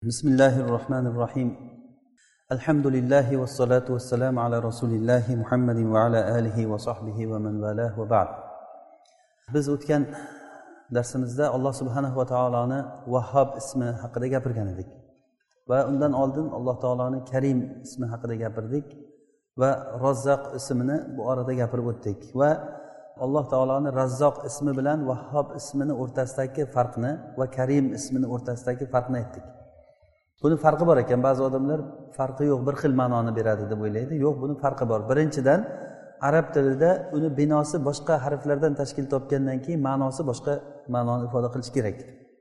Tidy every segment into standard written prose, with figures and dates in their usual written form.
Bismillahirrahmanirrahim. Alhamdulillahi wassalatu wassalamu ala rasulillahi Muhammadin va ala alihi va sahbihi va man valah va ba'd. Biz o'tgan darsimizda Alloh subhanahu va taoloni Vahhab ismi haqida gapirgan edik va undan oldin Alloh taoloni Karim ismi haqida gapirdik va Razzaq ismini bu orada gapirib o'tdik va Alloh taoloni Razzoq ismi bilan Vahhab ismini o'rtasidagi farqni va Karim ismini o'rtasidagi farqni aytdik. Buni farqi bor ekan. Ba'zi odamlar farqi yo'q, bir xil ma'noni beradi deb o'ylaydi. Yo'q, buni farqi bor. Birinchidan, arab tilida uni binosi boshqa harflardan tashkil topgandan keyin ma'nosi boshqa ma'noni ifoda qilish kerak.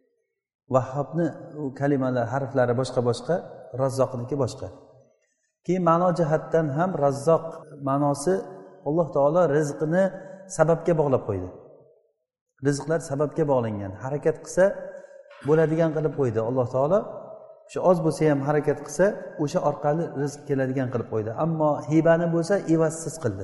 Vahhabni u kalimalar, harflari boshqa, Razzoqniki boshqa. Keyin ma'no jihatdan ham Razzoq ma'nosi Alloh taolo rizqini sababga bog'lab qo'ydi. Rizqlar sababga bog'langan. Harakat qilsa bo'ladigan qilib qo'ydi Alloh taolo. Shu oz bo'lsa ham harakat qilsa o'sha orqali rizq keladigan qilib qo'ydi. Ammo hibani bo'lsa evazsiz qildi.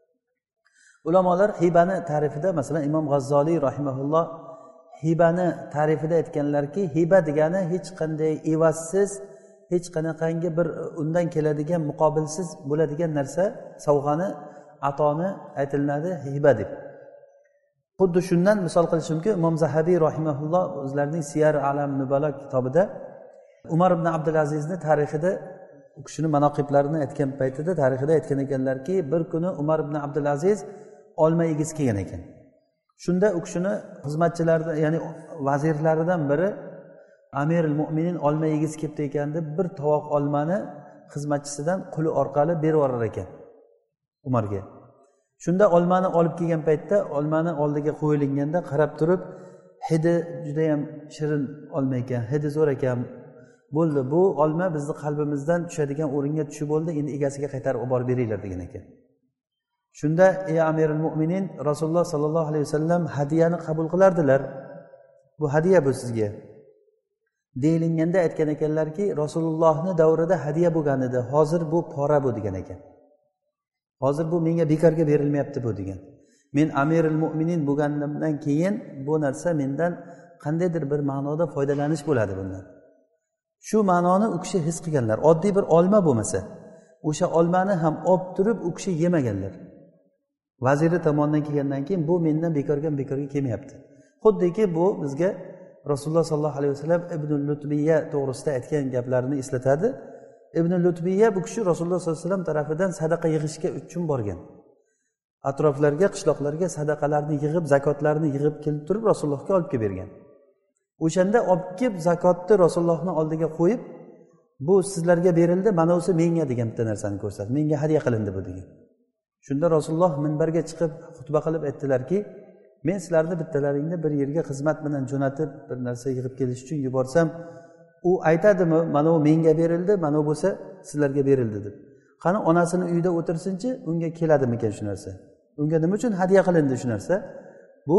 Ulamolar hibani ta'rifida, masalan Imom G'azzoliy rahimahulloh hibani ta'rifida aytganlarki, hiba degani hech qanday evazsiz, hech qanaqangi bir undan keladigan muqobilsiz bo'ladigan narsa, sovg'ani, atoni aytiladi hiba deb. Xuddi shundan misol qilish mumkin. Imom Zahabiy rahimahulloh o'zlarining Siyar Alam Nubala kitobida Umar ibn Abdulazizni tarixida, u kishini manaqiblarini aytgan paytida tarixida aytgan ekanlarki, bir kuni Umar ibn Abdulaziz olma egiz kelgan ekan. Shunda u kishini xizmatchilaridan, ya'ni vazirlaridan biri Amirul Mu'minin olma egiz kelibdi ekan deb bir tovoq olmani xizmatchisidan quli orqali berib yuborar ekan Umarga. Shunda olmani olib kelgan paytda olmani oldiga qo'yilganda qarab turib, hidi juda ham shirin olma ekan, hidi zo'r ekan. Bo'ldi, bu olma bizni qalbimizdan tushadigan o'ringa tushib bo'ldi, endi egasiga qaytarib olib borib beringlar degan ekan. Shunda ey Amirul Mu'minin, Rasululloh sallallohu alayhi vasallam hadiyani qabul qilardilar. Bu hadiya bu sizga. Deyilganda aytgan ekanlarki, Rasulullohning davrida hadiya bo'lgan edi, hozir bu pora bu degan ekan. Hozir bu menga bekorga berilmayapti bu degan. Men Amirul Mu'minin bo'lganimdan keyin bu narsa mendan qandaydir bir ma'noda foydalanish bo'ladi bundan. Shu ma'noni u kishi his qilganlar. Oddiy bir olma bo'lmasa, o'sha olmani ham olib turib u kishi yemaganlar. Vaziri tomonidan kelgandan keyin bu mendan bekorga kelmayapti. Xuddiki bu bizga Rasululloh sallallohu alayhi vasallam Ibn Lutbiyya to'g'risida aytgan gaplarini eslatadi. Ibn Lutbiyya bu kishi Rasululloh sallallohu alayhi vasallam tarafidan sadaqa yig'ishga uchun borgan. Atroflarga, qishloqlarga sadaqalarni yig'ib, zakotlarni yig'ib kelib turib Rasulullohga olib kelib bergan. O'shanda olib kelib zakotni Rasulullohning oldiga qo'yib, bu sizlarga berildi, mana o'si menga degan bitta narsani ko'rsatdi. Menga hadya qilindi bu degan. Shunda Rasululloh minbarga chiqib xutba qilib aytdilarki, men sizlarni bittalaringni bir yerga xizmat bilan jo'natib, bir narsa yig'ib kelish uchun yuborsam, u aytadimi, mana u menga berildi, mana u bo'lsa sizlarga berildi deb. Qani onasini uyida o'tirsinchi, unga keladimi ekan shu narsa? Unga nima uchun hadya qilindi shu narsa? Bu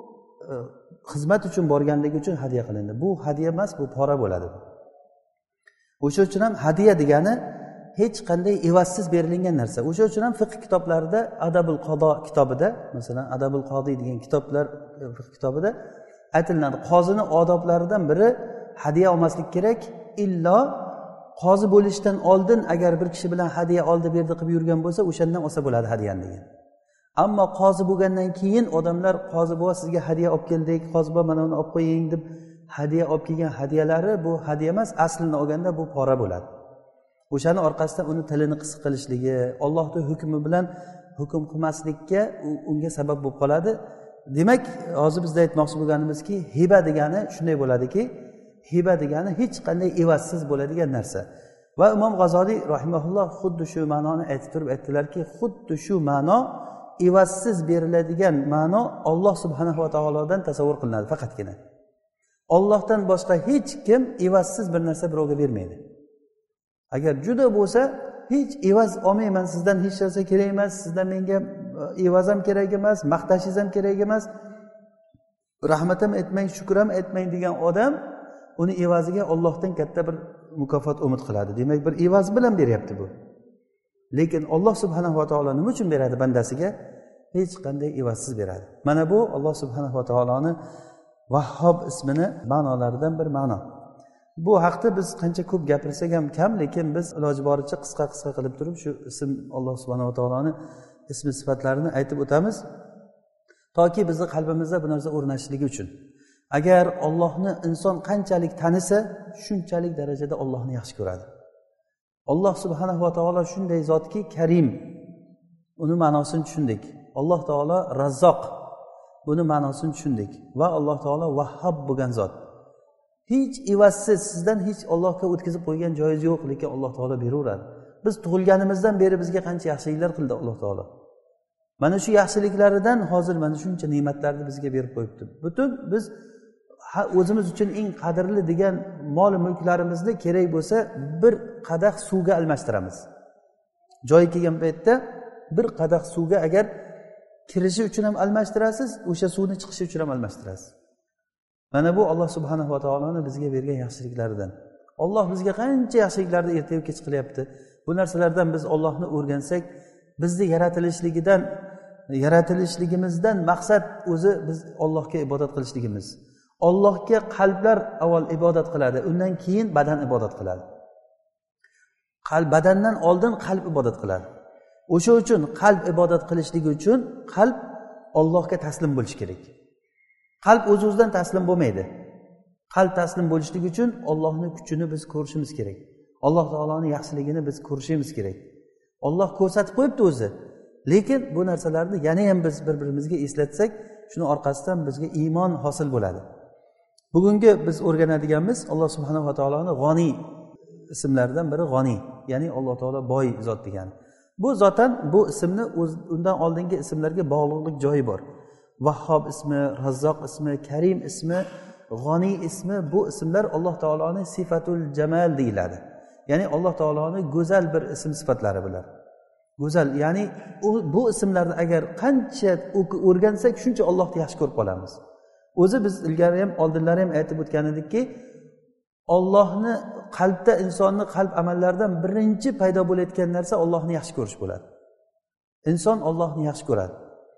xizmat uchun borganligi uchun hadya qilindi. Bu hadya emas, bu pora bo'ladi. O'sha uchun ham hadya degani hech qanday evazsiz berilgan narsa. O'sha uchun ham fiqh kitoblarida Adabul Qado kitobida, masalan Adabul Qodi degan kitoblar fiqh kitobida aytiladi. Qozini odoblaridan biri hadya olmaslik kerak, illo qozi bo'lishdan oldin agar bir kishi bilan hadya oldi berdi qilib yurgan bo'lsa, o'shandan olsa bo'ladi hadyani degan. Ammo qozi bo'lgandan keyin odamlar qozi bo'va sizga hadya olib keldik, qozi bo'va mana uni olib qo'ying deb hadya olib kelgan hadyalari bu hadya emas, aslini olganda bu pora bo'ladi. O'shaning orqasidan uni tilini qisiq qilishligi, Allohning hukmi bilan hukm qilmaslikka unga sabab bo'lib qoladi. Demak, hozir bizda aytmoqchi bo'lganimizki, hiba degani shunday bo'ladiki, hiba degani hech qanday evazsiz bo'ladigan narsa. Va Imom G'azoliy rahimahulloh xuddi shu ma'noni aytib turib aytdilarki, xuddi shu ma'no evazsiz beriladigan ma'no Alloh subhanahu va taolodan tasavvur qilinadi faqatgina. Allohdan boshqa hech kim evazsiz bir narsa birovga bermaydi. Agar juda bo'lsa, hech evaz olmayman, sizdan hech narsa kerak emas, sizdan menga evaz ham kerak emas, maqtashingiz ham kerak emas, rahmat ham aytmang, shukr ham aytmang degan odam uni evaziga Allohdan katta bir mukofot umid qiladi. Demak, bir evaz bilan beryapti bu. Lekin Alloh subhanahu va taolo nima uchun beradi bandasiga? Hech qanday evazsiz beradi. Mana bu Alloh subhanahu va taoloni Vahhab ismini ma'nolaridan bir ma'no. bu haqda biz qancha ko'p gapirsak ham kam, lekin biz iloji boricha qisqa qilib turib shu ism Alloh subhanahu va taoloni ismi sifatlarini aytib o'tamiz, toki bizni qalbimizda bu narsa o'rnashishligi uchun. Agar Allohni inson qanchalik tanisa, shunchalik darajada Allohni yaxshi ko'radi. Alloh subhanahu va taolo shunday zotki, Karim, uni ma'nosini tushundik. Alloh taolo Razzoq, buni ma'nosini tushundik. Va Alloh taolo Vahhab bo'lgan zot. Hech ivazsiz sizdan hech Allohga o'tkazib qo'ygan joyingiz yo'q, lekin Alloh taolo beraveradi. Biz tug'ilganimizdan beri bizga qancha yaxshiliklar qildi Alloh taolo. Mana shu yaxshiliklaridan hozir mana shuncha ne'matlarni bizga berib qo'yibdi. Butun biz o'zimiz uchun eng qadrli degan mol mulklarimizni kerak bo'lsa bir qadah suvga almashtiramiz. Joyi kelgan paytda bir qadah suvga agar kirishi uchun ham almashtirasiz, o'sha suvni chiqishi uchun ham almashtirasiz. Mana bu Alloh subhanahu va taoloning bizga bergan yaxshiliklaridan. Alloh bizga qancha yaxshiliklarni ertaga kech qilyapti. Bu narsalardan biz Allohni o'rgansak, bizni yaratilishligimizdan maqsad o'zi biz Allohga ibodat qilishligimiz. Allohga qalblar avval ibodat qiladi, undan keyin badan ibodat qiladi. Badandan oldin qalb ibodat qiladi. O'sha uchun qalb ibodat qilishligi uchun qalb Allohga taslim bo'lishi kerak. Qalb o'z-o'zidan taslim bo'lmaydi. Qalb taslim bo'lishligi uchun Allohning kuchini biz ko'rishimiz kerak. Alloh taoloning yaxshiligini biz ko'rishimiz kerak. Alloh ko'rsatib qo'yibdi o'zi. Lekin bu narsalarni yana ham biz bir-birimizga eslatsak, shuni orqasidan bizga iymon hosil bo'ladi. Bugungi biz o'rganadiganimiz Alloh subhanahu va taoloning G'oniy ismlaridan biri G'oniy, ya'ni Alloh taolo boy zot degani. Bu zotan bu ismni undan oldingi ismlarga bog'liqlik joyi bor. Vahhob ismi, Razzoq ismi, Karim ismi, G'oniy ismi, bu ismlar Alloh taoloning sifatul jamal deyiladi. Ya'ni Alloh taoloning go'zal bir ism sifatlari bular. Go'zal, ya'ni bu ismlarni agar qancha o'rgansak, shuncha Allohni yaxshi ko'rib qolamiz. O'zi biz ilgari ham, oldinlari ham aytib o'tgan edikki, Allohni qalbda, insonning qalb amallaridan birinchi paydo bo'layotgan narsa Allohni yaxshi ko'rish bo'ladi. Inson Allohni yaxshi ko'radi.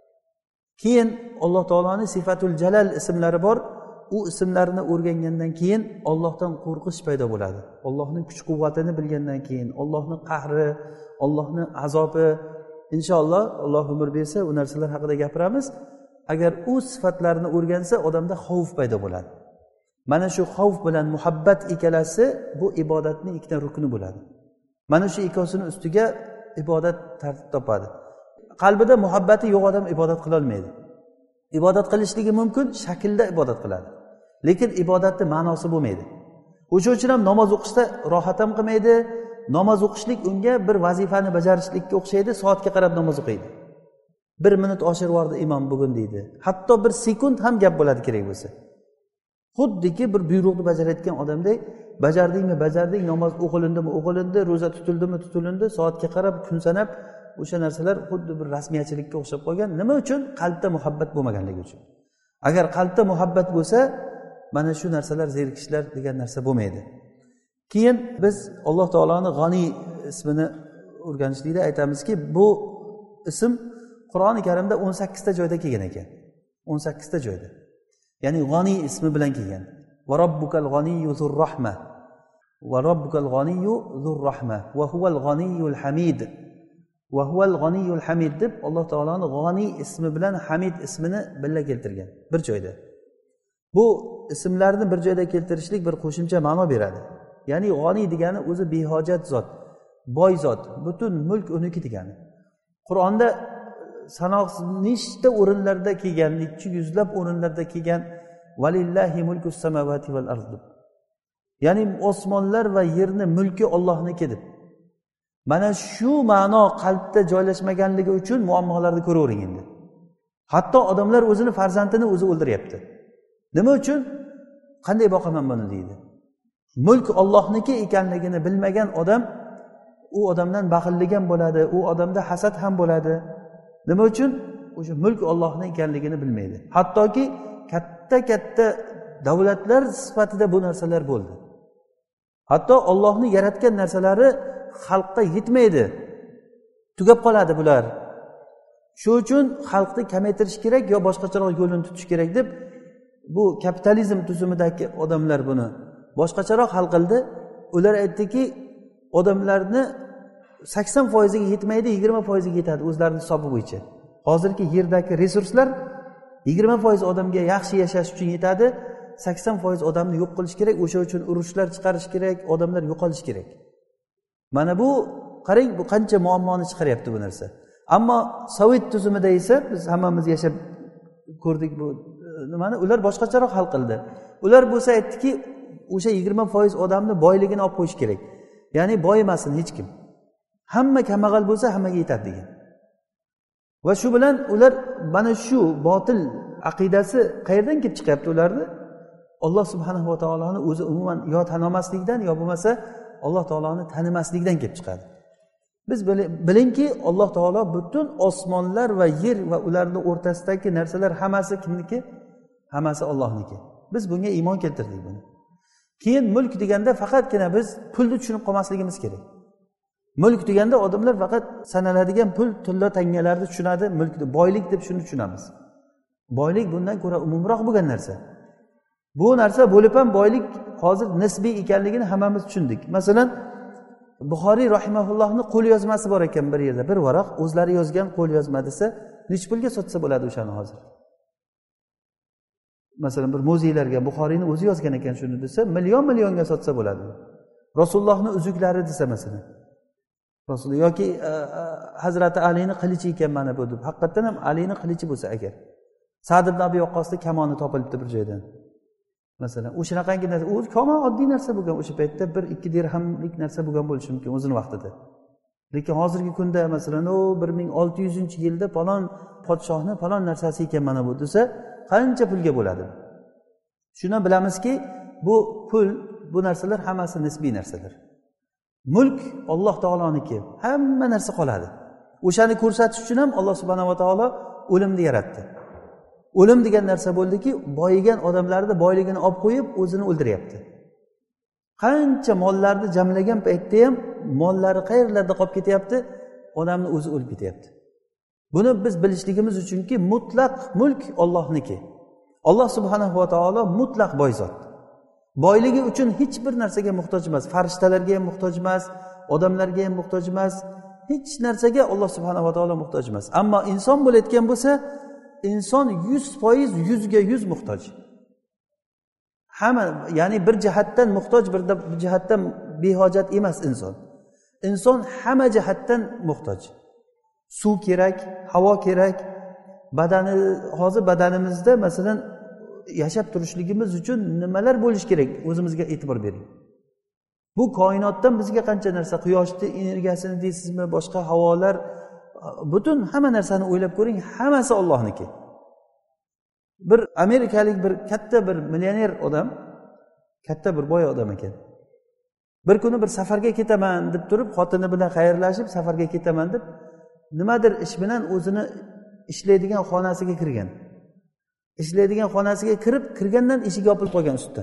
Keyin Alloh taoloning sifatul jalal ismlari bor. U ismlarni o'rgangandan keyin Allohdan qo'rqish paydo bo'ladi. Allohning kuch-quvvatini bilgandan keyin, Allohning qahri, Allohning azobi, inshaalloh Alloh umr bersa, u narsalar haqida gapiramiz. Agar u sifatlarni o'rgansa, odamda xavf paydo bo'ladi. Mana shu xavf bilan muhabbat ikkalasi bu ibodatning ikkita rukni bo'ladi. Mana shu ikkosini ustiga ibodat tartib topadi. Qalbida muhabbati yo'q odam ibodat qila olmaydi. Ibodat qilishligi mumkin, shaklda ibodat qiladi. Lekin ibodatning ma'nosi bo'lmaydi. O'sha uchun ham namoz o'qishda rohat ham qilmaydi. Namoz o'qishlik unga bir vazifani bajarishlikka o'xshaydi, soatga qarab namoz o'qiydi. 1 minut oshirib yubordi imom bugun deydi. Hatto 1 sekund ham gap bo'ladi kerak bo'lsa. Xuddiki bir buyruqni bajarayotgan odamday, bajarding, namoz o'qilindi, ro'za tutildimi, soatga qarab, kun sanab, o'sha narsalar xuddi bir rasmiyatchilikka o'xshab qolgan. Nima uchun? Qalbda muhabbat bo'lmaganligi uchun. Agar qalbda muhabbat bo'lsa, mana shu narsalar, zerikishlar degan narsa bo'lmaydi. Keyin biz Alloh taoloning G'oniy ismini o'rganishlikda aytamizki, bu ism Qur'oni Karimda 18 ta joyda kelgan ekan. 18 ta joyda. Ya'ni G'oniy ismi bilan kelgan. Va robbukal g'aniyyu zur rahma. Va robbukal g'aniyyu zur rahma. Va huval g'aniyyul hamid. Va huval g'aniyyul hamid deb Alloh taoloning G'oniy ismi bilan Hamid ismini birga keltirgan bir joyda. Bu ismlarni bir joyda keltirishlik bir qo'shimcha ma'no beradi. Ya'ni G'oniy degani o'zi behojat zot, boy zot, butun mulk uniki degani. Qur'onda sanoqsiz nechta o'rinlarda kelgan, 200 o'rinlarda kelgan valillahi mulkus samawati val ard. Ya'ni osmonlar va yerni mulki Allohniki deb. Mana shu ma'no qalbda joylashmaganligi uchun muammolarni ko'ravering endi. Hatto odamlar o'zini farzandini o'zi o'ldiryapti. Nima uchun? Qanday boqaman buni deydi. Mulk Allohniki ekanligini bilmagan odam, u odamdan baxillik ham bo'ladi, u odamda hasad ham bo'ladi. Nima uchun? O'sha mulk Allohning ekanligini bilmaydi. Hattoki katta davlatlar sifatida bu narsalar bo'ldi. Hatto Allohning yaratgan narsalari xalqqa yetmaydi. Tugab qoladi bular. Shu uchun xalqni kamaytirish kerak yo boshqacharoq yo'lini tutish kerak deb bu kapitalizm tuzumidagi odamlar buni boshqacharoq hal qildi. Ular aytdiki, odamlarni 80%ga yetmaydi, 20%ga yetadi o'zlarining hisobi bo'yicha. Hozirgi yerdagi resurslar 20% odamga yaxshi yashash uchun yetadi, 80% odamni yo'q qilish kerak, o'sha uchun urushlar chiqarish kerak, odamlar yo'qolish kerak. Mana bu qarang, bu qancha muammoni chiqaryapti bu narsa. Ammo Sovet tuzumida esa biz hammamiz yashab ko'rdik bu nimani, ular boshqacharoq hal qildi. Ular bo'lsa aytdiki, o'sha 20% odamni boyligini olib qo'yish kerak. Ya'ni boyimasin hech kim. Hamma kambag'al bo'lsa hammaga yetadi degan. Va shu bilan ular mana shu botil aqidasi qayerdan kelib chiqyapti ularni? Alloh subhanahu va taoloni o'zi umuman yo tanimaslikdan yo bo'lmasa Alloh taoloni tanimaslikdan kelib chiqadi. Biz bilingki, Alloh taolo butun osmonlar va yer va ularning o'rtasidagi narsalar hammasi kimniki? Hammasi Allohniki. Biz bunga iymon keltirdik buni. Keyin mulk deganda faqatgina biz pulni tushunib qolmasligimiz kerak. Mulk deganda odamlar faqat sanaladigan pul, tilla tangalarni tushunadi, mulkni, boylik deb shuni tushunamiz. Boylik bundan ko'ra umumroq bo'lgan narsa. Bu narsa bo'lib ham boylik hozir nisbiy ekanligini hammamiz tushundik. Masalan, Buxoriy rahimahullohning qo'l yozmasi bor ekan bir yerda, bir varaq o'zlari yozgan qo'l yozma desa, nech pulga sotsa bo'ladi o'shani hozir? Masalan, bir muzeylarga Buxoriyni o'zi yozgan ekan shuni desa, millionga sotsa bo'ladi. Rasulullohning uzuklari desa masalan. Rasululloh yoki Hazrati Alining qilichi ekan mana bu deb. Haqiqatan ham Alining qilichi bo'lsa agar. Sa'd ibn Abi Waqqosda kamoni topilibdi bir joydan. Masalan, o'shanaqangi narsa, u kamon oddiy narsa bo'lgan o'sha paytda 1-2 dirhamlik narsa bo'lgan bo'lishi mumkin o'zining vaqtida. Lekin hozirgi kunda masalan, 1600-yilda falon podshohning falon narsasi ekan mana bu desa, qancha pulga bo'ladi? Shuni bilamizki, bu pul, bu narsalar hammasi nisbiy narsalar. Mulk Alloh taoloniki, hamma narsa qoladi. O'shani ko'rsatish uchun ham Alloh subhanahu va taolo o'limni yaratdi. O'lim degan narsa bo'ldiki, boyigan odamlarni boyligini olib qo'yib, o'zini o'ldiryapti. Qancha mollarni jamlagan paytda ham mollari qayerlarda qolib ketyapti, odamni o'zi o'lib ketyapti. Buni biz bilishligimiz uchunki, mutlaq mulk Allohniki. Alloh subhanahu va taolo mutlaq boy zot. Boyligi uchun hech bir narsaga muhtoj emas, farishtalarga ham muhtoj emas, odamlarga ham muhtoj emas, hech narsaga Alloh subhanahu va taolo muhtoj emas. Ammo inson bo'layotgan bo'lsa, inson 100% 100% muhtoj. Hamma, ya'ni bir jihatdan muhtoj, bir jihatdan behojat emas inson. Inson hamma jihatdan muhtoj. Suv kerak, havo kerak, badani, hozir badanimizda masalan yashab turishligimiz uchun nimalar bo'lish kerak? O'zimizga e'tibor bering. Bu koinotdan bizga qancha narsa, quyoshning energiyasini deysizmi, boshqa havolar, butun hamma narsani o'ylab ko'ring, hammasi Allohniki. Bir amerikalik bir katta bir millioner odam, katta bir boy odam ekan. Bir kuni bir safarga ketaman deb turib, xotini bilan xayrlashib safarga ketaman deb nimadir ish bilan o'zini ishlaydigan xonasiga kirgan. Ishlaydigan xonasiga kirgandan eshik yopilib qolgan ustidan.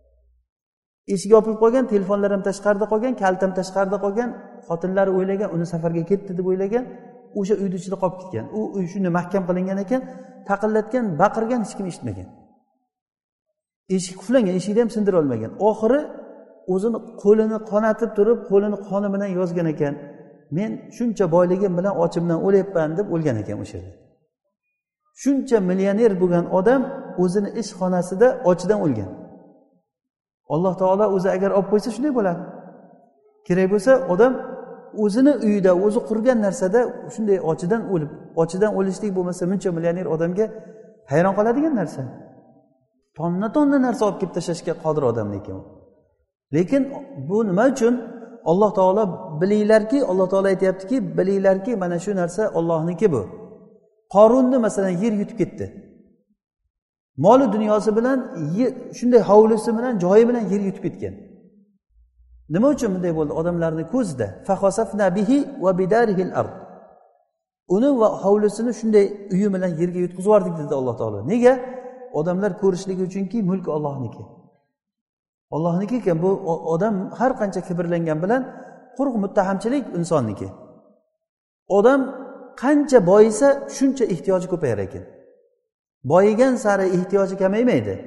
Eshik yopilib qolgan, telefonlar ham tashqarida qolgan, kalt ham tashqarida qolgan. Xotinlari o'ylagan, uni safarga ketdi deb o'ylagan, o'sha uyning ichida qolib ketgan. U uy shunday mahkam qilingan ekan, taqillatgan, baqirgan, hech kim eshitmagan. Eshik quflangan, eshikni ham sindira olmagan. Oxiri o'zini qo'lini qonatib turib, qo'lini qoni bilan yozgan ekan. Men shuncha boyligim bilan ochimdan o'layapman deb o'lgan ekan o'sha yerda. Shuncha millioner bo'lgan odam o'zini ish xonasida ochidan o'lgan. Alloh taolo o'zi agar olib qo'ysa shunday bo'ladi. Kerak bo'lsa odam o'zini uyida, o'zi qurgan narsada shunday ochidan o'lishlik bo'lmasa, buncha millioner odamga hayron qoladigan narsa. Tonna narsa olib kelib tashlashga qodir odam ekan u. Lekin bu nima uchun? Alloh taolo bilinglarki, Alloh taolo aytayaptiki, bilinglarki, mana shu narsa Allohniki bu. Qorunni masalan yer yutib ketdi. Moli dunyosi bilan, shunday hovlisi bilan, joyi bilan yer yutib ketgan. Nima uchun bunday bo'ldi? Odamlarning ko'zida fakhasafna bihi va bidarihil ard. Uni va hovlisini shunday uyi bilan yerga yutqizib yubordik dedi Alloh taolo. Nega? Odamlar ko'rishligi uchunki mulk Allohniki. Allohniki ekan, bu odam har qancha kibrlangan bilan quruq muttahamchilik insonniki. Odam qancha boyisa shuncha ehtiyoji ko'payar ekan. Boyigan sari ehtiyoji kamaymaydi.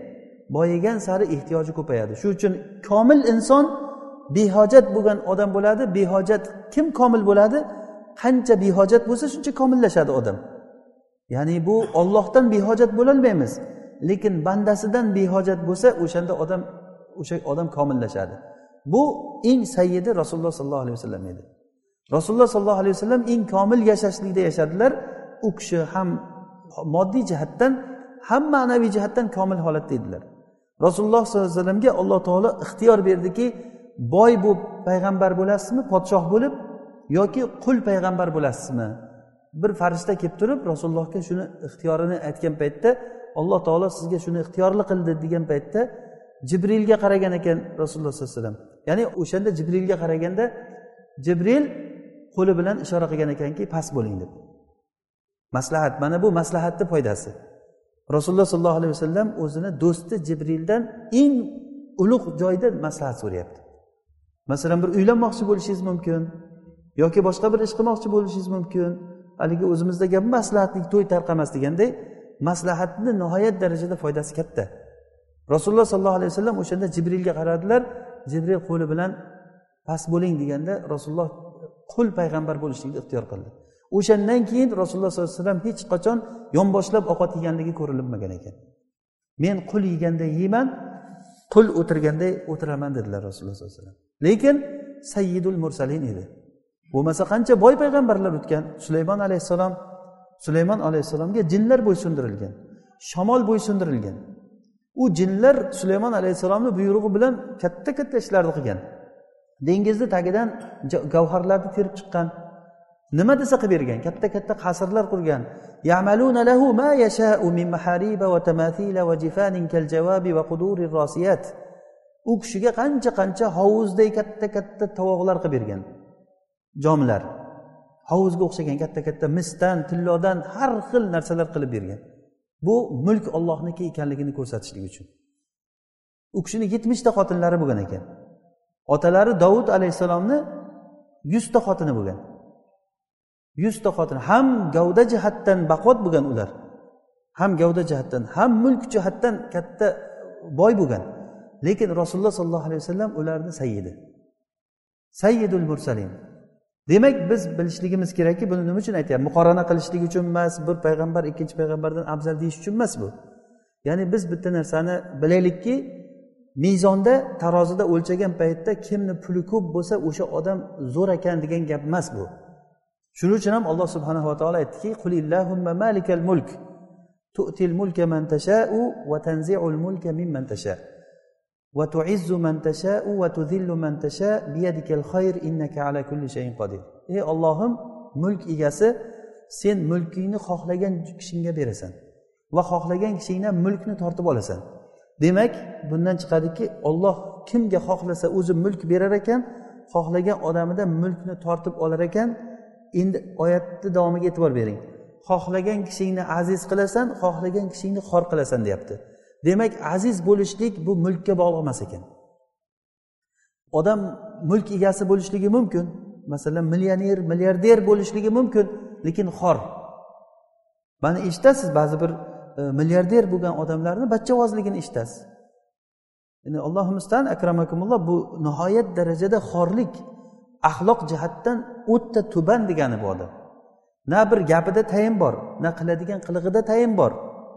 boyigan sari ehtiyoji ko'payadi. Shuning uchun komil inson behojat bo'lgan odam bo'ladi. Behojat kim komil bo'ladi? Qancha behojat bo'lsa shuncha komillashadi odam. Ya'ni bu Allohdan behojat bo'la olmaymiz, lekin bandasidan behojat bo'lsa o'sha odam komillashadi. Bu eng sayyidi Rasululloh sollallohu alayhi vasallam edi. Rasululloh sollallohu alayhi vasallam eng komil yashashlikda yashadilar. U kishi ham moddiy jihatdan ham ma'naviy jihatdan komil holatda edilar. Rasululloh sollallohu alayhi vasallamga Alloh taolo ixtiyor berdiki, boy bo'lib payg'ambar bo'lasizmi, podshoh bo'lib, yoki qul payg'ambar bo'lasizmi? Bir farishta kelib turib Rasulullohga shuni ixtiyorini aytgan paytda, Alloh taolo sizga shuni ixtiyorli qildi degan paytda Jibrilga qaragan ekan Rasululloh sollallohu alayhi vasallam. Ya'ni o'shanda Jibrilga qaraganda Jibril qo'li bilan ishora qilgan ekanki, past bo'ling deb. Maslahat, mana bu maslahatning foydasi. Rasululloh sollallohu alayhi vasallam o'zini do'sti Jibrildan eng ulug' joyda maslahat so'rayapti. Masalan, bir uylanmoqchi bo'lishingiz mumkin yoki boshqa bir ish qilmoqchi bo'lishingiz mumkin. Haligi o'zimizda gap maslahatlik to'y tarqamas deganday, maslahatni nihoyat darajada foydasi katta. Rasululloh sollallohu alayhi vasallam o'shanda Jibrilga qaradilar. Jibril qo'li bilan past bo'ling deganda Rasululloh qul payg'ambar bo'lishlikni ixtiyor qildi. O'shandan keyin Rasululloh sollallohu alayhi vasallam hech qachon yonboshlab ovqat yeganligi ko'rilmagan ekan. Men qul yeganda yeyman, qul o'tirganda o'tiraman dedilar Rasululloh sollallohu alayhi vasallam. Lekin sayyidul mursalin edi. Bo'lmasa qancha boy payg'ambarlar o'tgan. Sulaymon alayhissalomga jinlar bo'ysundirilgan, shamol bo'ysundirilgan. U jinlar Sulaymon alayhissalomning buyrug'i bilan katta-katta ishlarni qilgan. Dengizni tagidan gavharlarni terib chiqqan. Nima desa qilib bergan, katta-katta qasrlar qurgan. Ya'maluna lahu ma yasha'u min mahariba va tamathila va jifanin kal jawabi va qudurir rasiyat. U kishiga qancha hovuzday katta-katta tovoqlar qilib bergan. Jomlar. Hovuzga o'xshagan katta-katta misdan, tillodan har xil narsalar qilib bergan. Bu mulk Allohniki ekanligini ko'rsatishlik uchun. U kishining 70 ta xotinlari bo'lgan ekan. Otalari Davud alayhisalomni 100 ta xotini bo'lgan. 100 ta xotin, ham gavda jihatdan baquvvat bo'lgan ular. Ham gavda jihatdan, ham mulk jihatdan katta boy bo'lgan. Lekin Rasululloh sollallohu alayhi vasallam ularni sayyidi. Sayyidul mursalin. Demak, biz bilishligimiz kerakki, buni nima uchun aytyapman? Muqorana qilishlik uchun emas, bir payg'ambar ikkinchi payg'ambardan afzal deyish uchun emas bu. Ya'ni biz bitta narsani bilaylikki, mezonda, tarozida o'lchagan paytda kimni puli ko'p bo'lsa, o'sha odam zo'r ekan degan gap emas bu. Shuning uchun ham Alloh subhanahu va taolo aytdiki, "Qulillahumma malikal mulk, tu'til mulka man tasha'u va tanzi'ul mulka mimman tasha'. Va tu'izzu man tasha'u va tudhillu man tasha' biyadikal khayr innaka ala kulli shay'in qodir." Ey Allohim, mulk egasi, sen mulkingni xohlagan kishingga berasan va xohlagan kishingdan mulkni tortib olasan. Demak, bundan chiqadiki, Alloh kimga xohlasa o'zi mulk berar ekan, xohlagan odamidan mulkni tortib olar ekan. Endi oyatni davomiga e'tibor bering. Xohlagan kishingni aziz qilasan, xohlagan kishingni xor qilasan deyapti. Demak, aziz bo'lishlik bu mulkka bog'liq emas ekan. Odam mulk egasi bo'lishligi mumkin, masalan, millioner, milliarder bo'lishligi mumkin, lekin xor. Mana eshitasiz, ba'zi bir milliarder bo'lgan odamlarni bachchavozligini eshitasiz. Ya'ni Allohimizdan akramakumulloh, bu nihoyat darajada xorlik, axloq jihatdan o'ta tuban degani bu odam. Na bir gapida tayin bor, na qiladigan qilig'ida tayin bor.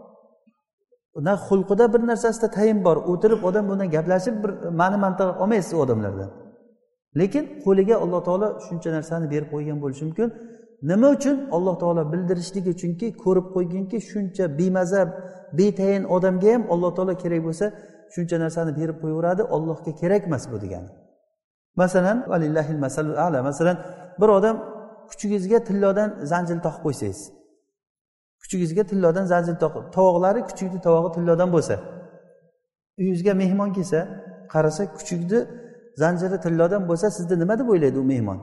Na xulqida bir narsasida tayin bor. O'tirib odam bilan gaplashib bir ma'ni mantiq olmaysiz u odamlardan. Lekin qo'liga Alloh taolo shuncha narsani berib qo'ygan bo'lishi mumkin. Nima uchun? Alloh taolo bildirishligi uchunki, ko'rib qo'yganki, shuncha bemaza, betayin odamga ham Alloh taolo kerak bo'lsa, shuncha narsani berib qo'yaveradi. Allohga kerak emas bu degani. Masalan, valillahil masalul a'la. Masalan, bir odam kuchugizga tillodan zanjir taqib qo'ysangiz. Kuchugizga tillodan zanjir taqib, tovoqlari kuchukni tovog'i tillodan bo'lsa, uyingizga mehmon kelsa, qarasa kuchukni zanjiri tillodan bo'lsa, sizda nima deb o'ylaydi u mehmon?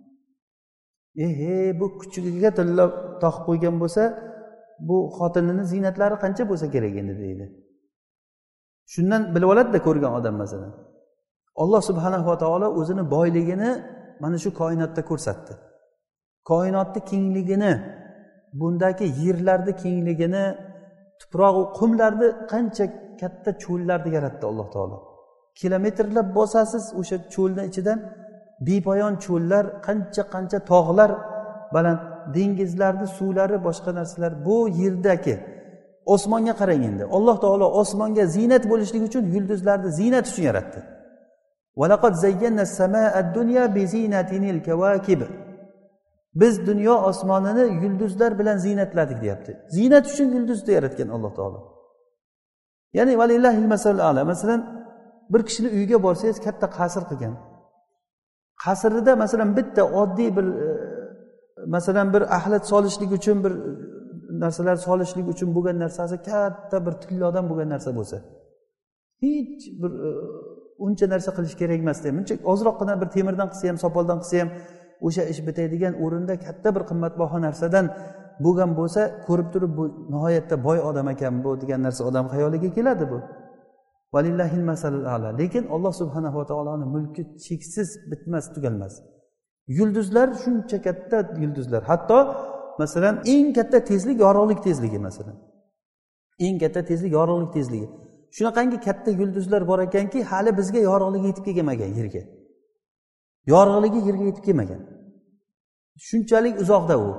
Bu kuchugiga tillo taqib qo'ygan bo'lsa, bu xotinining ziynatlari qancha bo'lsa kerak endi deydi. Shundan bilib oladi-da ko'rgan odam masalan. Alloh subhanahu va taolo o'zini boyligini mana shu koinotda ko'rsatdi. Koinotning kengligini, bundagi yerlarning kengligini, tuproq va qumlarni qancha katta cho'llarni yaratdi alloh taolo. Kilometrlab bosasiz o'sha cho'lning ichidan bepoyon cho'llar, qancha tog'lar, baland dengizlarning suvlari, boshqa narsalar. Bu yerdagi osmonga qarang endi. Alloh taolo osmonga ziynat bo'lishligi uchun yulduzlarni ziynat uchun yaratdi. Valaqad zayyana as-samaa ad-dunya bi zinatinil kawakib. Biz dunyo osmonini yulduzlar bilan ziynatladik deyapti. Ziynat uchun yulduzni yaratgan Alloh taolo. Ya'ni valillahil masalul a'la. Masalan, bir kishining uyiga borsangiz, katta qasr qilgan. Qasrida masalan bitta oddiy bir masalan bir axlat solishlik uchun, bir narsalar solishlik uchun bo'lgan narsasi katta bir tillodan bo'lgan narsa bo'lsa, hech bir uncha narsa qilish kerak emas deb. Buncha ozroqgina bir temirdan qilsa ham, sopoldan qilsa ham o'sha ish bitadigan o'rinda katta bir qimmatbaho narsadan bo'lgan bo'lsa, ko'rib turib bu nihoyatda boy odam ekan bu degan narsa odam xayoliga keladi bu. Valillahil masalul a'la. Lekin Alloh subhanahu va taoloning mulki cheksiz, bitmas, tugalmas. Yulduzlar shuncha katta yulduzlar. Hatto masalan eng katta tezlik yorug'lik tezligi masalan. Eng katta tezlik yorug'lik tezligi. Shunaqangi katta yulduzlar bor ekanki, hali bizga yorug'ligi yetib kelmagan yerga. Yorug'ligi yerga yetib kelmagan. Shunchalik uzoqda u.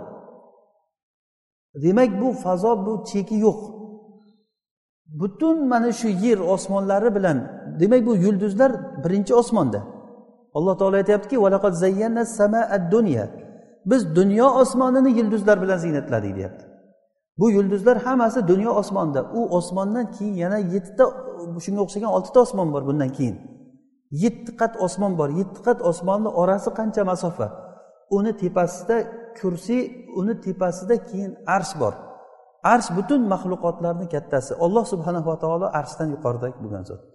Demak, bu fazo, bu cheki yo'q. Butun mana shu yer osmonlari bilan, demak bu yulduzlar birinchi osmonda. Alloh taolo aytayaptiki, "Valaqad zayyana as-samaa ad-dunya." Biz dunyo osmonini yulduzlar bilan ziynatladik deyapti. Bu yulduzlar hammasi dunyo osmonida. U osmondan keyin yana 7 ta, shunga o'xshagan 6 ta osmon bor bundan keyin. 7 qat osmon bor. 7 qat osmonning orasi qancha masofa? Uni tepasida kursi, uni tepasida keyin arsh bor. Arsh butun maxluqotlarning kattasi. Alloh subhanahu va taolo arshdan yuqorida bo'lgan zot.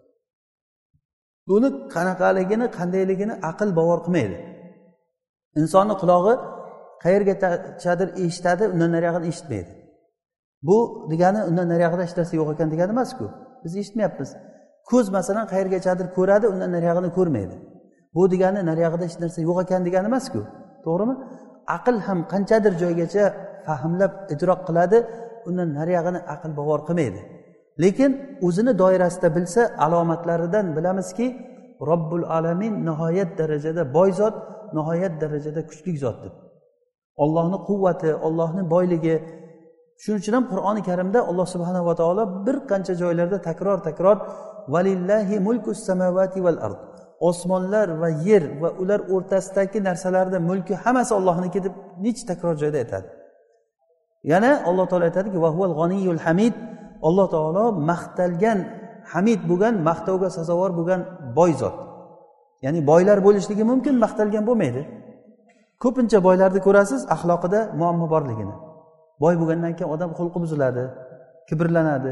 Buni qanaqaligini, qandayligini aql bavar qilmaydi. Insonning qulog'i qayergachadir eshitadi, undan nariyog'ini eshitmaydi. Bu degani undan nariyog'ida hech narsa yo'q ekan degani emas-ku. Biz eshitmayapmiz. Ko'z masalan qayergachadir ko'radi, undan nariyog'ini ko'rmaydi. Bu degani nariyog'ida hech narsa yo'q ekan degani emas-ku. To'g'rimi? Aql ham qanchadir joygacha fahmlab idrok qiladi, undan nariyog'ini aql bavar qilmaydi. Lekin o'zini doirasida bilsa, alomatlaridan bilamizki, Robbul alamin nihoyat darajada boy zot, nihoyat darajada kuchli zot deb. Allohning quvvati, Allohning boyligi. Shuning uchun ham Qur'oni Karimda Alloh subhanahu va taolo bir qancha joylarda takror valillahi mulkus samawati val ard. Osmonlar va yer va ular o'rtasidagi narsalarning mulki hammasi Allohning deb necha takror joyda aytadi. Yana Alloh taolo aytadiki, va huval g'aniyul hamid. Alloh taolo maqtalgan, hamid bo'lgan, maqtovga sazovor bo'lgan boy zot. Ya'ni boylar bo'lishligi mumkin, maqtalgan bo'lmaydi. Ko'pincha boylarni ko'rasiz, axloqida muammo borligini. Boy bo'lgandan keyin odam xulqi buziladi, kibrlanadi,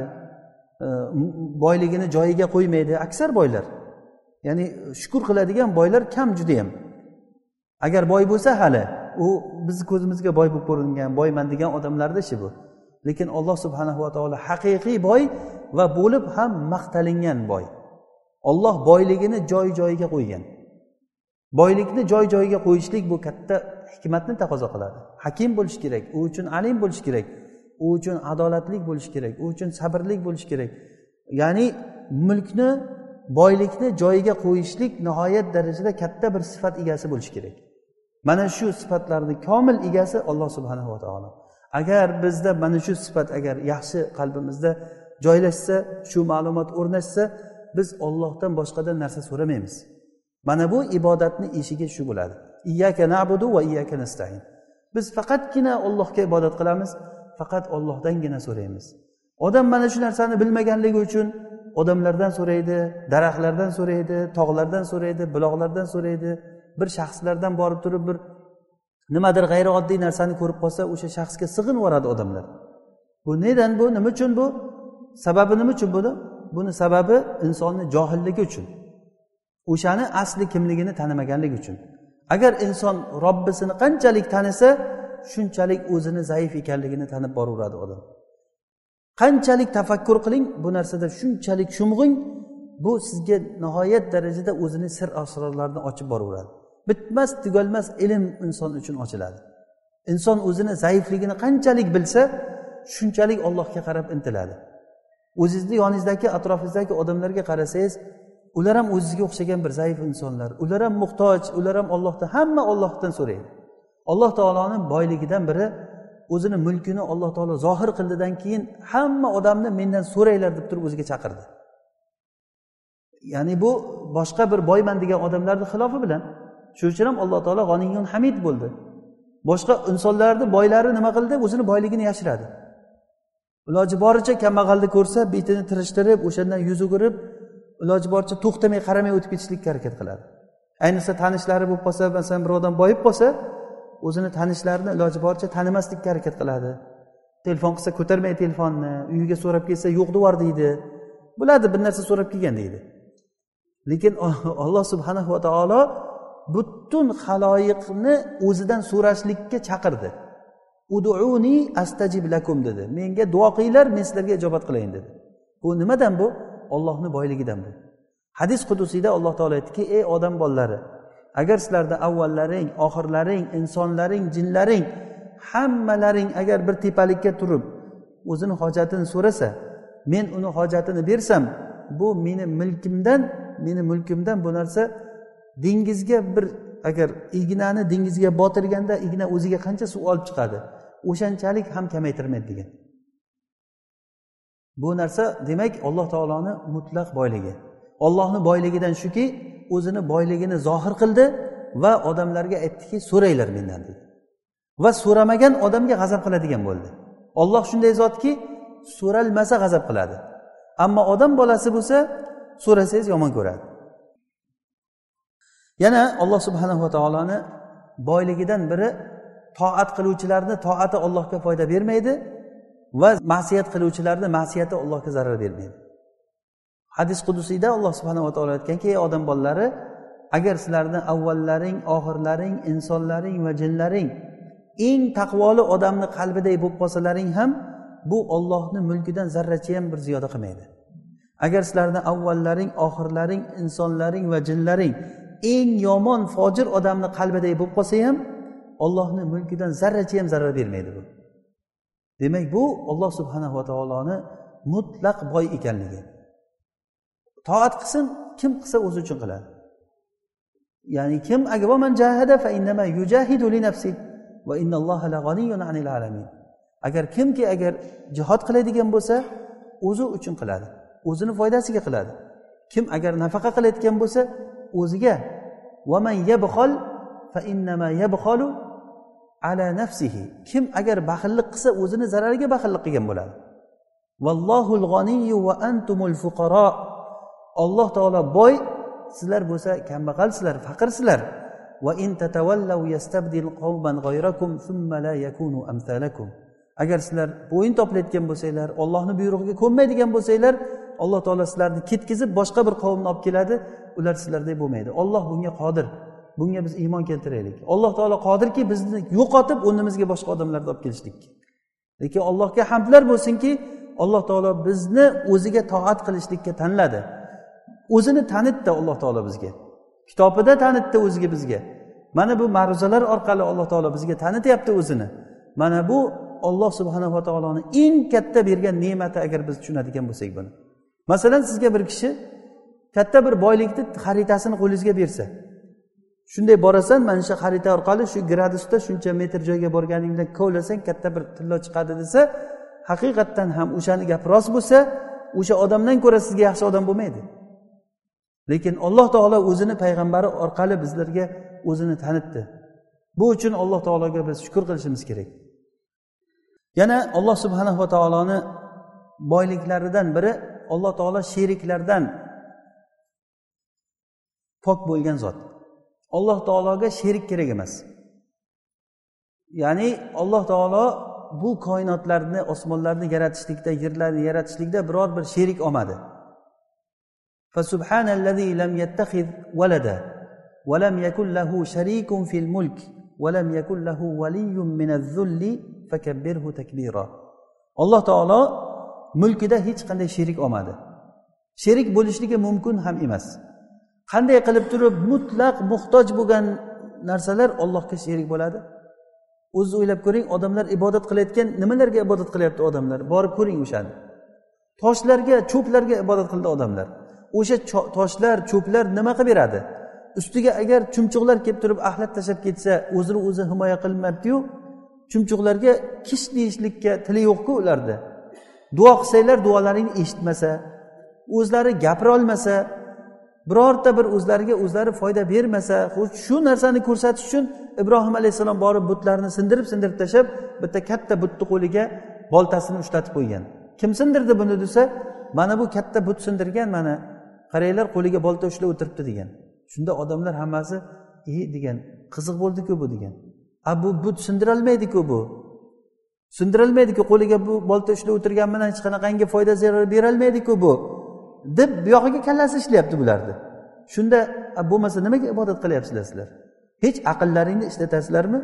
boyligini joyiga qo'ymaydi. Aksar boylar. Ya'ni shukr qiladigan boylar kam juda ham. Agar boy bo'lsa hali, u biz ko'zimizga boy bo'lib ko'ringan, boyman degan odamlarda ishi bu. Lekin Alloh subhanahu va taolo haqiqiy boy va bo'lib ham maqtalingan boy. Alloh boyligini joy-joyiga qo'ygan. Boylikni joy-joyiga qo'yishlik bu katta hikmatni taqozo qiladi. Hakim bo'lish kerak, u uchun alim bo'lish kerak, u uchun adolatli bo'lish kerak, u uchun sabrli bo'lish kerak. Ya'ni mulkni, boylikni joyiga qo'yishlik nihoyat darajada katta bir sifat egasi bo'lish kerak. Mana shu sifatlarning komil egasi Alloh subhanahu va taolo. Agar bizda mana shu sifat agar yaxshi qalbimizda joylashsa, shu ma'lumot o'rnashsa, biz Allohdan boshqadan narsa so'ramaymiz. Mana bu ibodatning eshigi shu bo'ladi. Iyyaka na'budu va iyyaka nasta'in. Biz faqatgina Allohga ibodat qilamiz, faqat Allohdangina so'raymiz. Odam mana shu narsani bilmaganligi uchun odamlardan so'raydi, daraxtlardan so'raydi, tog'lardan so'raydi, buloqlardan so'raydi, bir shaxslardan borib turib bir nimadir g'ayrioddiy narsani ko'rib qolsa, o'sha shaxsga sig'inib yoradi odamlar. Bu nedan bu? Nima uchun bu? Sababi nima uchun bu? Buni sababi insonning johilligi uchun. O'shani asli kimligini tanimaganligi uchun. Agar inson Robbisini qanchalik tanisa, shunchalik o'zini zaif ekanligini tanib boraveradi odam. Qanchalik tafakkur qiling, bu narsada shunchalik shumg'ing, bu sizga nihoyat darajada o'zining sir asrorlarini ochib boraveradi. Bitmas, tugalmas ilm inson uchun ochiladi. Inson o'zini zaifligini qanchalik bilsa, shunchalik Allohga qarab intiladi. o'zingizni yoningizdagi atrofingizdagi odamlarga qarasangiz, ular ham o'zingizga o'xshagan bir zaif insonlar, ular ham muhtoj, ular ham Allohdan, hamma Allohdan so'raydi. Alloh taoloning boyligidan biri o'zini mulkini Alloh taolo zohir qildidan keyin hamma odamni mendan so'ranglar deb turib o'ziga chaqirdi. Ya'ni bu boshqa bir boyman degan odamlarning xilofi bilan. Shuning uchun ham Alloh taolo G'aniyyun Hamid bo'ldi. Boshqa insonlarni boylari nima qildi? O'zini boyligini yashiradi. Iloji boricha kambag'alni ko'rsa, betini tirishtirib, o'shandan yuz o'girib, iloji boricha to'xtamay qaramay o'tib ketishlikka harakat qiladi. Ayniqsa tanishlari bo'lib qolsa, masalan bir odam boyib qolsa, o'zini tanishlarini iloji boricha tanimaslikka harakat qiladi. Telefon qilsa ko'tarmay telefonni, uyiga so'rab kelsa yo'q devar deydi. Bo'ladi, bir narsa so'rab kelgan deydi. Lekin Alloh subhanahu va taolo butun xaloyiqni o'zidan so'rashlikka chaqirdi. Ud'uni astajib lakum dedi. Menga duo qilinglar, men sizlarga ijobat qilayin dedi. Bu nimadan bu? Allohning boyligidan bu. Hadis qudusiyda Alloh taolo aytdiki: "Ey odam bolalari, agar sizlarda avvallaring, oxirlaring, insonlaring, jinlaring hammalaring agar bir tepalikka turib o'zini hojatini so'rasa, men uni hojatini bersam, bu meni mulkimdan bu narsa dengizga bir agar ignani dengizga botirganda igna o'ziga qancha suv olib chiqadi, o'shanchalik ham kamaytirmaydi" degan. Bu narsa demak Alloh taoloning mutlaq boyligi. Allohning boyligidan shuki, o'zini boyligini zohir qildi va odamlarga aytdiki, so'ranglar mendan dedi. Va so'ramagan odamga g'azab qiladigan bo'ldi. Alloh shunday zotki, so'ralmasa g'azab qiladi. Ammo odam bolasi bo'lsa, so'rasangiz yomon ko'radi. Yana Alloh subhanahu va taoloni boyligidan biri toat qiluvchilarni toati Allohga foyda bermaydi va ma'siyat qiluvchilarni ma'siyati Allohga zarar bermaydi. Hadis qudusiyda Alloh subhanahu va taolo aytganki: "Ey odam bolalari, agar sizlarning avvallaring, oxirlaring, insonlaring va jinlaring eng taqvoli odamni qalbiday bo'lib qolsalaring ham, bu Allohning mulkidan zarracha ham bir ziyoda qilmaydi. Agar sizlarning avvallaring, oxirlaring, insonlaring va jinlaring eng yomon fojir odamni qalbiday bo'lib qolsa ham, Allohning mulkidan zarracha ham zarar bermaydi bu." Demak, bu Alloh subhanahu va taoloning mutlaq boy ekanligi. Toat qilsin, kim qilsa o'zi uchun qiladi. Ya'ni kim agar man jahada fa innama yujahidu li nafsi va innalloha la g'aniyyun 'anil alamin. Agar kimki agar jihad qiladigan bo'lsa, o'zi uchun qiladi, o'zini foydasiga qiladi. Kim agar nafaqa qilayotgan bo'lsa, o'ziga. Va man yabkhal fa innama yabkhalu ala nafsihi. Kim agar baxillik qilsa, o'zini zarariga baxillik qilgan bo'ladi. Vallohul g'aniyyu va antumul fuqaro. Alloh taolo boy, sizlar bo'lsa kambag'alsizlar, faqirsizlar. Va in tatawallaw yastabdil qawman ghayrakum thumma la yakunu amsalakum. Agar sizlar bo'yin toplayotgan bo'lsanglar, Allohning buyrug'iga ko'nmaydigan bo'lsanglar, Alloh taolo sizlarni ketkizib boshqa bir qavmni olib keladi, ular sizlarday bo'lmaydi. Alloh bunga qodir. Bunga biz iymon keltiraylik. Alloh taolo qodirki, bizni yo'qotib o'rnimizga boshqa odamlarni olib kelishlikka. Lekin Allohga hamdlar bo'lsinki, Alloh taolo bizni o'ziga toat qilishlikka tanladi. O'zini tanitdi Alloh taolo bizga. Kitobida tanitdi o'ziga bizga. Mana bu ma'ruzalar orqali Alloh taolo bizga tanityapti o'zini. Mana bu Alloh subhanahu va taoloning eng katta bergan ne'mati agar biz tushunadigan bo'lsak buni. Masalan, sizga bir kishi katta bir boylikni xaritasini qo'lingizga bersa, shunday borasan, mana shu xarita orqali shu gradusda shuncha metr joyga borganingda kovlasang katta bir tilla chiqadi desa, haqiqatdan ham o'shani gap rost bo'lsa, o'sha odamdan ko'ra sizga yaxshi odam bo'lmaydi. Lekin Alloh taolo o'zini payg'ambari orqali bizlarga o'zini tanitdi. Bu uchun Alloh taologa biz shukr qilishimiz kerak. Yana Alloh subhanahu va taoloni boyliklaridan biri, Alloh taolo sheriklardan pok bo'lgan zot. Alloh taologa sherik kerak emas. Ya'ni Alloh taolo bu koinotlarni, osmonlarni yaratishlikda, yerlarni yaratishlikda biror bir sherik olmadi. Fa subhanallazi lam yattakhiz walada va lam yakul lahu sharikun fil mulk va lam yakul lahu waliyyun minaz-zulli fakabbirhu takbira. Alloh taolo mulkida hech qanday sherik olmadi. Sherik bo'lishligi mumkin ham emas. Qanday qilib turib mutlaq muhtoj bo'lgan narsalar Allohga sherik bo'ladi? O'zingiz o'ylab ko'ring, odamlar ibodat qilayotgan, nimalarga ibodat qilyapti odamlar? Borib ko'ring o'shani. toshlarga, cho'plarga ibodat qildi odamlar. O'sha toshlar, cho'plar nima qilib beradi? Ustiga agar chumchuqlar kelib turib axlat tashlab ketsa, o'zini o'zi himoya qilmayapti-yu, chumchuqlarga kish deyishlikka tili yo'q-ku ularda. Duo qilsanglar duolaringni eshitmasa, o'zlari gapira olmasa, birorta bir o'zlariga o'zlari foyda bermasa, shu narsani ko'rsatish uchun Ibrohim alayhisalom borib butlarni sindirib tashlab, bitta katta butni qo'liga boltasini ushlatib qo'ygan. Kim sindirdi buni desa, mana bu katta but sindirgan, mana qaranglar qo'liga bolta ushlab o'tiribdi degan. Shunda odamlar hammasi degan, qiziq bo'ldi-ku bu degan. Bu but sindirolmaydi-ku bu. Sindirolmaydi-ku, qo'liga bu bolta ushlab o'tirgan bilan hech qanaqangi foyda zarar berolmaydi-ku bu. Deb bu yog'iga kallasi ishlayapti bularni. Shunda bo'lmasa nimaga ibodat qilyapsizlar sizlar? Hech aqllaringni ishlatasizlarmi?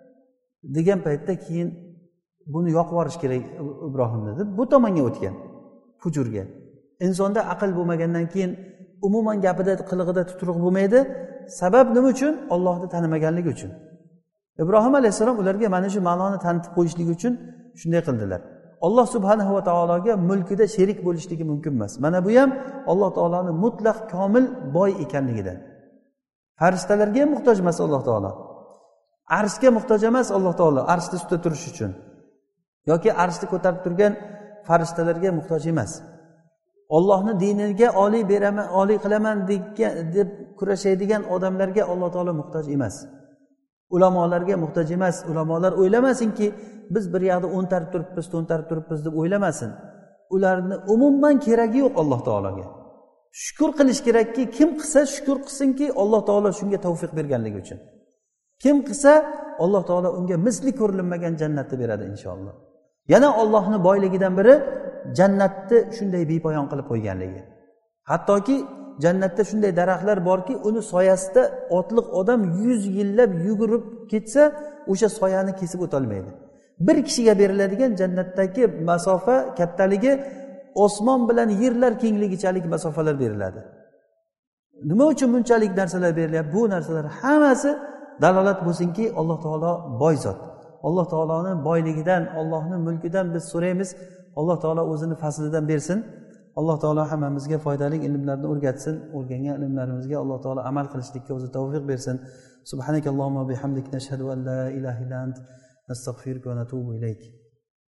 Degan paytda keyin buni yoqib yuborish kerak Ibrohim dedi. Bu tomonga o'tgan. Fujurga. Insonda aql bo'lmagandan keyin umuman gapida, qilig'ida tuturuq bo'lmaydi. Sabab nima uchun? Allohni tanimaganligi uchun. Ibrohim alayhisalom ularga mana shu ma'noni tanitib qo'yishligi uchun shunday qildilar. Alloh subhanahu va taologa mulkida sherik bo'lishligi mumkin emas. Mana bu ham Alloh taoloning mutlaq komil boy ekanligidan. Farishtalarga ham muhtoj emas Alloh taolo. Arshga muhtoj emas Alloh taolo, arshda ustida turish uchun. Yoki arshni ko'tarib turgan farishtalarga muhtoj emas. Allohning diniga oliy beraman, oliy qilaman deb kurashadigan odamlarga Alloh taolo muhtoj emas. Ulamolarga muhtoj emas. Ulamolar o'ylamasinki, biz bir yoqda o'ntarib turibmiz, to'ntarib turibmiz deb o'ylamasin. Ularni umuman keragi yo'q Alloh taologa. Shukr qilish kerakki, kim qilsa shukr qilsinki, Alloh taolo shunga tavfiq berganligi uchun. Kim qilsa, Alloh taolo unga misli ko'rilmagan jannatni beradi inshaalloh. Yana Allohning boyligidan biri jannatni shunday bepoyon qilib qo'yganligi. Hattoki jannatda shunday daraxtlar borki, uni soyasida otliq odam 100 yillab yugurib ketsa, o'sha soyani kesib o'tolmaydi. Bir kishiga beriladigan jannatdagi masofa kattaligi osmon bilan yerlar kengligichalik masofalar beriladi. Nima uchun bunchalik narsalar berilyapti? Bu narsalar hammasi dalolat bo'lsinki, Alloh taolo boy zot. Alloh taoloning boyligidan, Allohning mulkidan biz so'raymiz. Alloh taolo o'zini fazlidan bersin. Alloh taolo hammamizga foydali ilmlarni o'rgatsin. O'rgangan ilmlarimizga Alloh taolo amal qilishlikka o'zi tavfiq bersin. Subhanakallohumma bihamdik nashhadu an la ilaha illa ant nastag'firuka va natubu ilayk.